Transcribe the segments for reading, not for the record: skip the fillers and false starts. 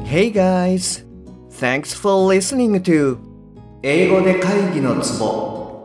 Hey guys! Thanks for listening to 英語で会議のツボ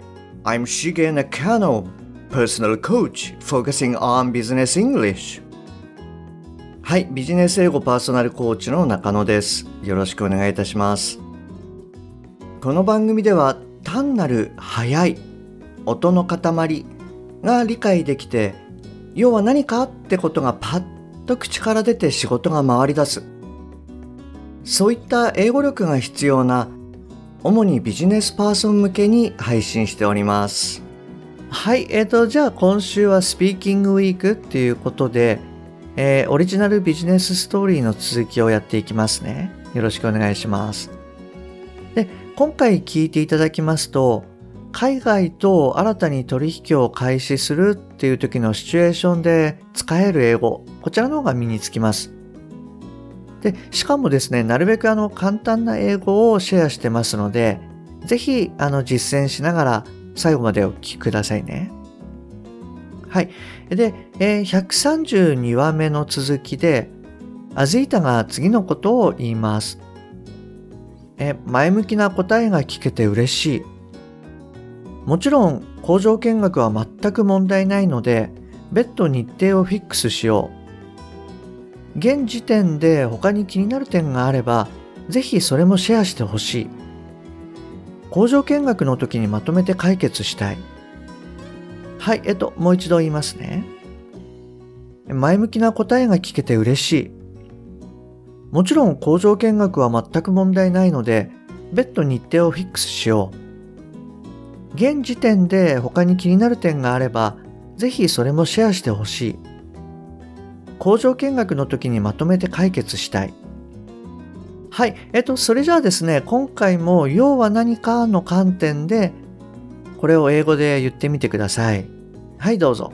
I'm Shige Nakano, personal coach focusing on business English. はい、ビジネス英語パーソナルコーチの中野です。よろしくお願いいたします。この番組では単なる速い音の塊が理解できて、要は何かってことがパッと口から出て仕事が回り出す。そういった英語力が必要な主にビジネスパーソン向けに配信しております。はい、じゃあ今週はスピーキングウィークっていうことで、オリジナルビジネスストーリーの続きをやっていきますね。よろしくお願いします。で、今回聞いていただきますと、海外と新たに取引を開始するっていう時のシチュエーションで使える英語、こちらの方が身につきます。で、しかもですね、なるべく簡単な英語をシェアしてますので、ぜひ実践しながら最後までお聞きくださいね。はい。で、132話目の続きで、アズイタが次のことを言います。前向きな答えが聞けて嬉しい。もちろん工場見学は全く問題ないので、別途日程をフィックスしよう。現時点で他に気になる点があれば、ぜひそれもシェアしてほしい。工場見学の時にまとめて解決したい。はい、もう一度言いますね。前向きな答えが聞けて嬉しい。もちろん工場見学は全く問題ないので、別途日程をフィックスしよう。現時点で他に気になる点があれば、ぜひそれもシェアしてほしい。工場見学の時にまとめて解決したい。はい、それじゃあですね、今回も要は何かの観点で、これを英語で言ってみてください。はい、どうぞ。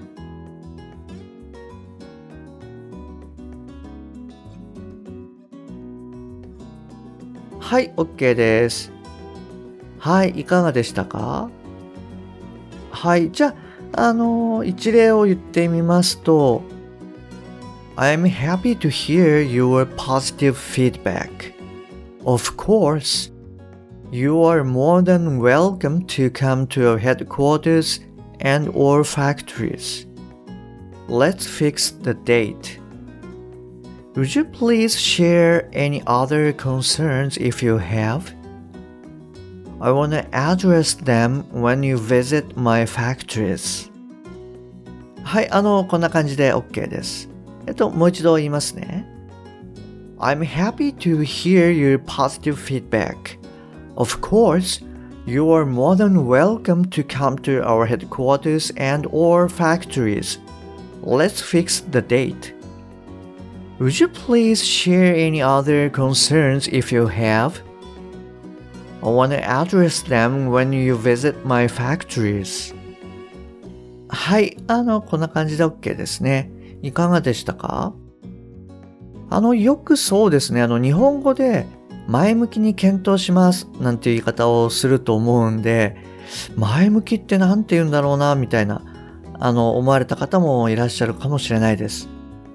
はい、OK です。はい、いかがでしたか？はい、じゃあ、一例を言ってみますと、I'm happy to hear your positive feedback. Of course, you are more than welcome to come to our headquarters and or factories. Let's fix the date. Would you please share any other concerns if you have? I want to address them when you visit my factories. はい、こんな感じで OK です。もう一度言いますね。I'm happy to hear your positive feedback. Of course, you are more than welcome to come to our headquarters and or factories. Let's fix the date. Would you please share any other concerns if you have? I want to address them when you visit my factories. はい、こんな感じで OK ですね。いかがでしたか？よくそうですね、日本語で前向きに検討しますなんていう言い方をすると思うんで、前向きってなんて言うんだろうな、みたいな、思われた方もいらっしゃるかもしれないです。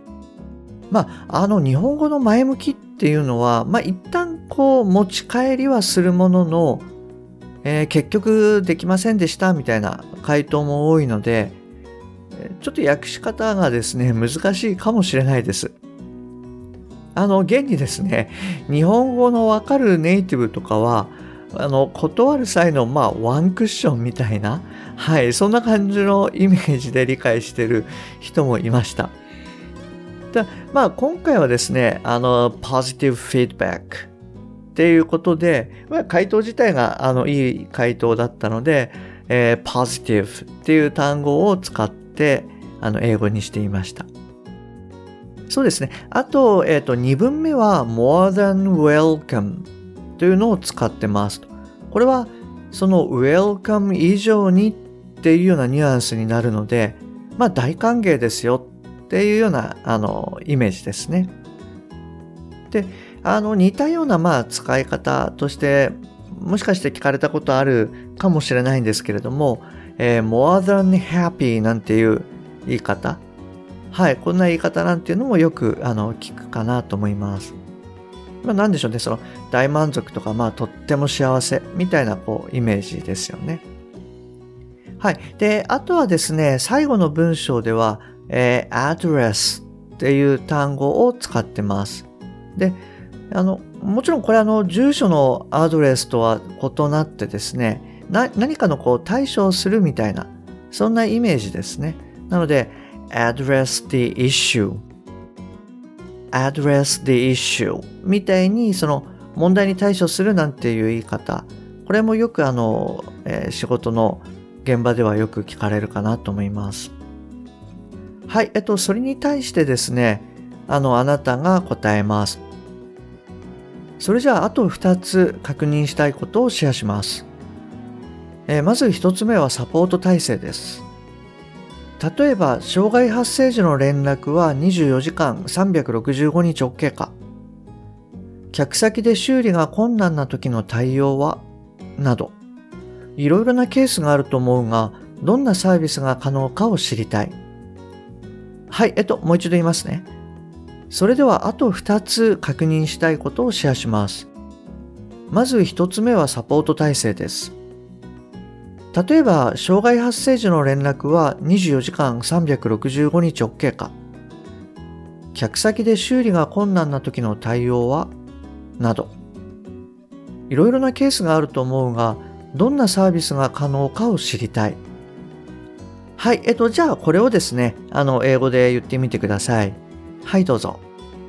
日本語の前向きっていうのは、一旦持ち帰りはするものの、結局できませんでしたみたいな回答も多いので、ちょっと訳し方がですね、難しいかもしれないです。現にですね、日本語のわかるネイティブとかは、断る際の、ワンクッションみたいな、はい、そんな感じのイメージで理解している人もいました。今回はですね、positive feedback っていうことで、回答自体がいい回答だったので、positive っていう単語を使って英語にしていました。そうですね。あと、2文目は more than welcome というのを使ってますと。これはその welcome 以上にっていうようなニュアンスになるので、大歓迎ですよっていうようなイメージですね。で、似たような使い方としてもしかして聞かれたことあるかもしれないんですけれども、more than happy なんていう言い方、はい、こんな言い方なんていうのもよく聞くかなと思います。 なんでしょうね、その大満足とか、とっても幸せみたいなイメージですよね。はい。で、あとはですね、最後の文章では、address っていう単語を使ってます。で、もちろんこれ住所のアドレスとは異なってですね、何かの対処をするみたいな、そんなイメージですね。なので、address the issue。address the issue みたいにその問題に対処するなんていう言い方、これもよく仕事の現場ではよく聞かれるかなと思います。はい、それに対してですね、あなたが答えます。それじゃあ、あと2つ確認したいことをシェアします。まず1つ目はサポート体制です。例えば、障害発生時の連絡は24時間365日 OK か。客先で修理が困難な時の対応はなど、いろいろなケースがあると思うが、どんなサービスが可能かを知りたい。はい、もう一度言いますね。それではあと2つ確認したいことをシェアします。まず1つ目はサポート体制です。例えば、障害発生時の連絡は24時間365日 OK か。客先で修理が困難な時の対応はなど、いろいろなケースがあると思うが、どんなサービスが可能かを知りたい。はい、じゃあこれをですね、英語で言ってみてください。はい、どうぞ。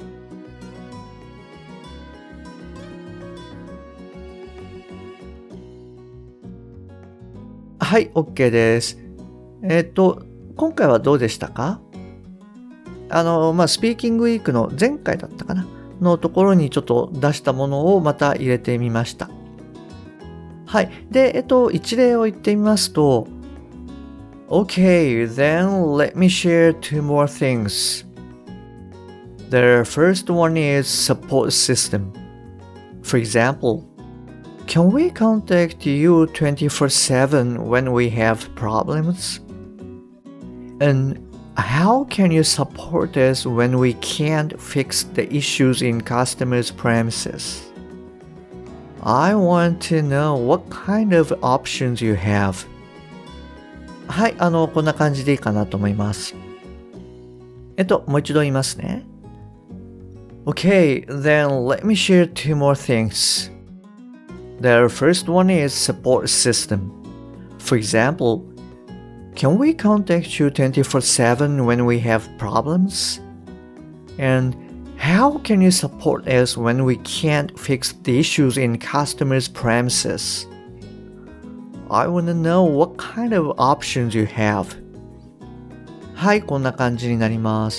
はい、OK です。今回はどうでしたか？スピーキングウィークの前回だったかなのところにちょっと出したものをまた入れてみました。はい。で、一例を言ってみますと、Okay, then let me share two more things. The first one is support system. For example, can we contact you 24/7 when we have problems? And how can you support us when we can't fix the issues in customers' premises? I want to know what kind of options you have. はい、こんな感じでいいかなと思います。もう一度言いますね。Okay, then let me share two more things. The first one is support system. For example, can we contact you 24/7 when we have problems? And how can you support us when we can't fix the issues in customers' premises? I want to know what kind of options you have. はい、こんな感じになります。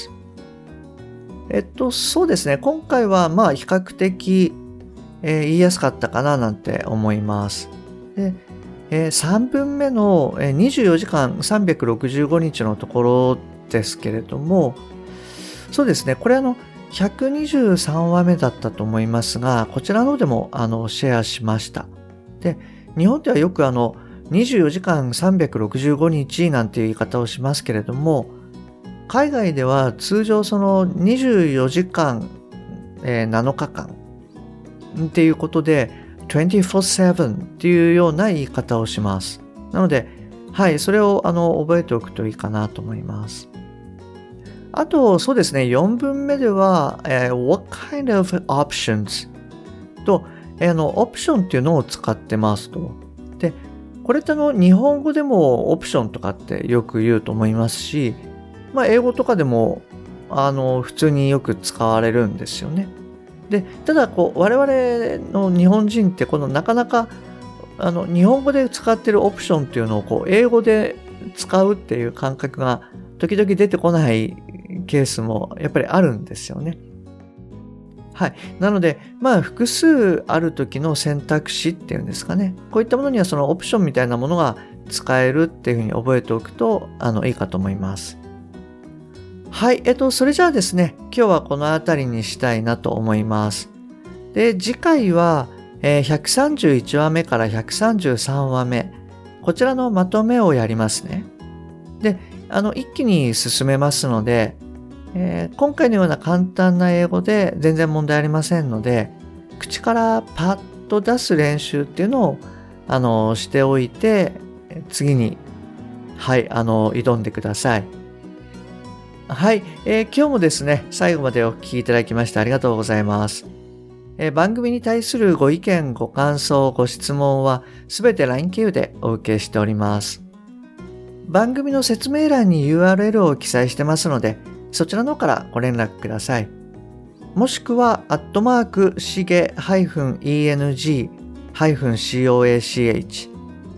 そうですね。今回は比較的、言いやすかったかななんて思います。で、3分目の24時間365日のところですけれども、そうですね。これ123話目だったと思いますが、こちらの方でもシェアしました。で、日本ではよく24時間365日なんていう言い方をしますけれども、海外では通常その24時間、7日間っていうことで 24/7 っていうような言い方をします。なので、はい、それを覚えておくといいかなと思います。あと、そうですね、4文目では、what kind of options と、オプションっていうのを使ってますと。で、これって日本語でもオプションとかってよく言うと思いますし、英語とかでも、普通によく使われるんですよね。で、ただ、我々の日本人って、なかなか、日本語で使ってるオプションっていうのを、英語で使うっていう感覚が、時々出てこないケースも、やっぱりあるんですよね。はい。なので、複数ある時の選択肢っていうんですかね。こういったものには、そのオプションみたいなものが使えるっていうふうに覚えておくと、いいかと思います。はい。それじゃあですね、今日はこの辺りにしたいなと思います。で、次回は、131話目から133話目、こちらのまとめをやりますね。で、一気に進めますので、今回のような簡単な英語で全然問題ありませんので、 口からパッと出す練習っていうのをしておいて、次に挑んでください。はい、今日もですね、最後までお聞きいただきましてありがとうございます。番組に対するご意見、ご感想、ご質問はすべて LINE 経由でお受けしております。番組の説明欄に URL を記載してますので、そちらの方からご連絡ください。もしくは、しげ-eng-coach、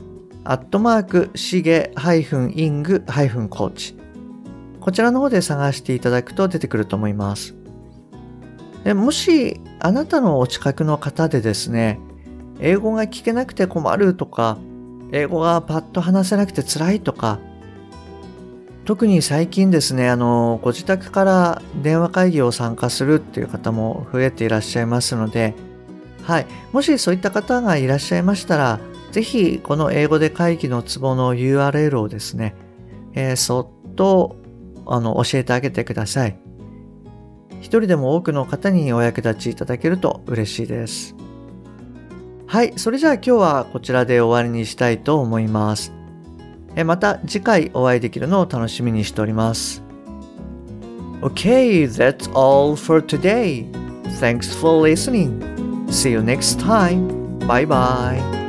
しげ-ing-coach、こちらの方で探していただくと出てくると思います。もし、あなたのお近くの方でですね、英語が聞けなくて困るとか、英語がパッと話せなくて辛いとか、特に最近ですね、ご自宅から電話会議を参加するっていう方も増えていらっしゃいますので、もしそういった方がいらっしゃいましたら、ぜひこの英語で会議のツボの URL をですね、そっと教えてあげてください。一人でも多くの方にお役立ちいただけると嬉しいです。それじゃあ今日はこちらで終わりにしたいと思います。また次回お会いできるのを楽しみにしております。Okay, that's all for today. Thanks for listening. See you next time. Bye bye.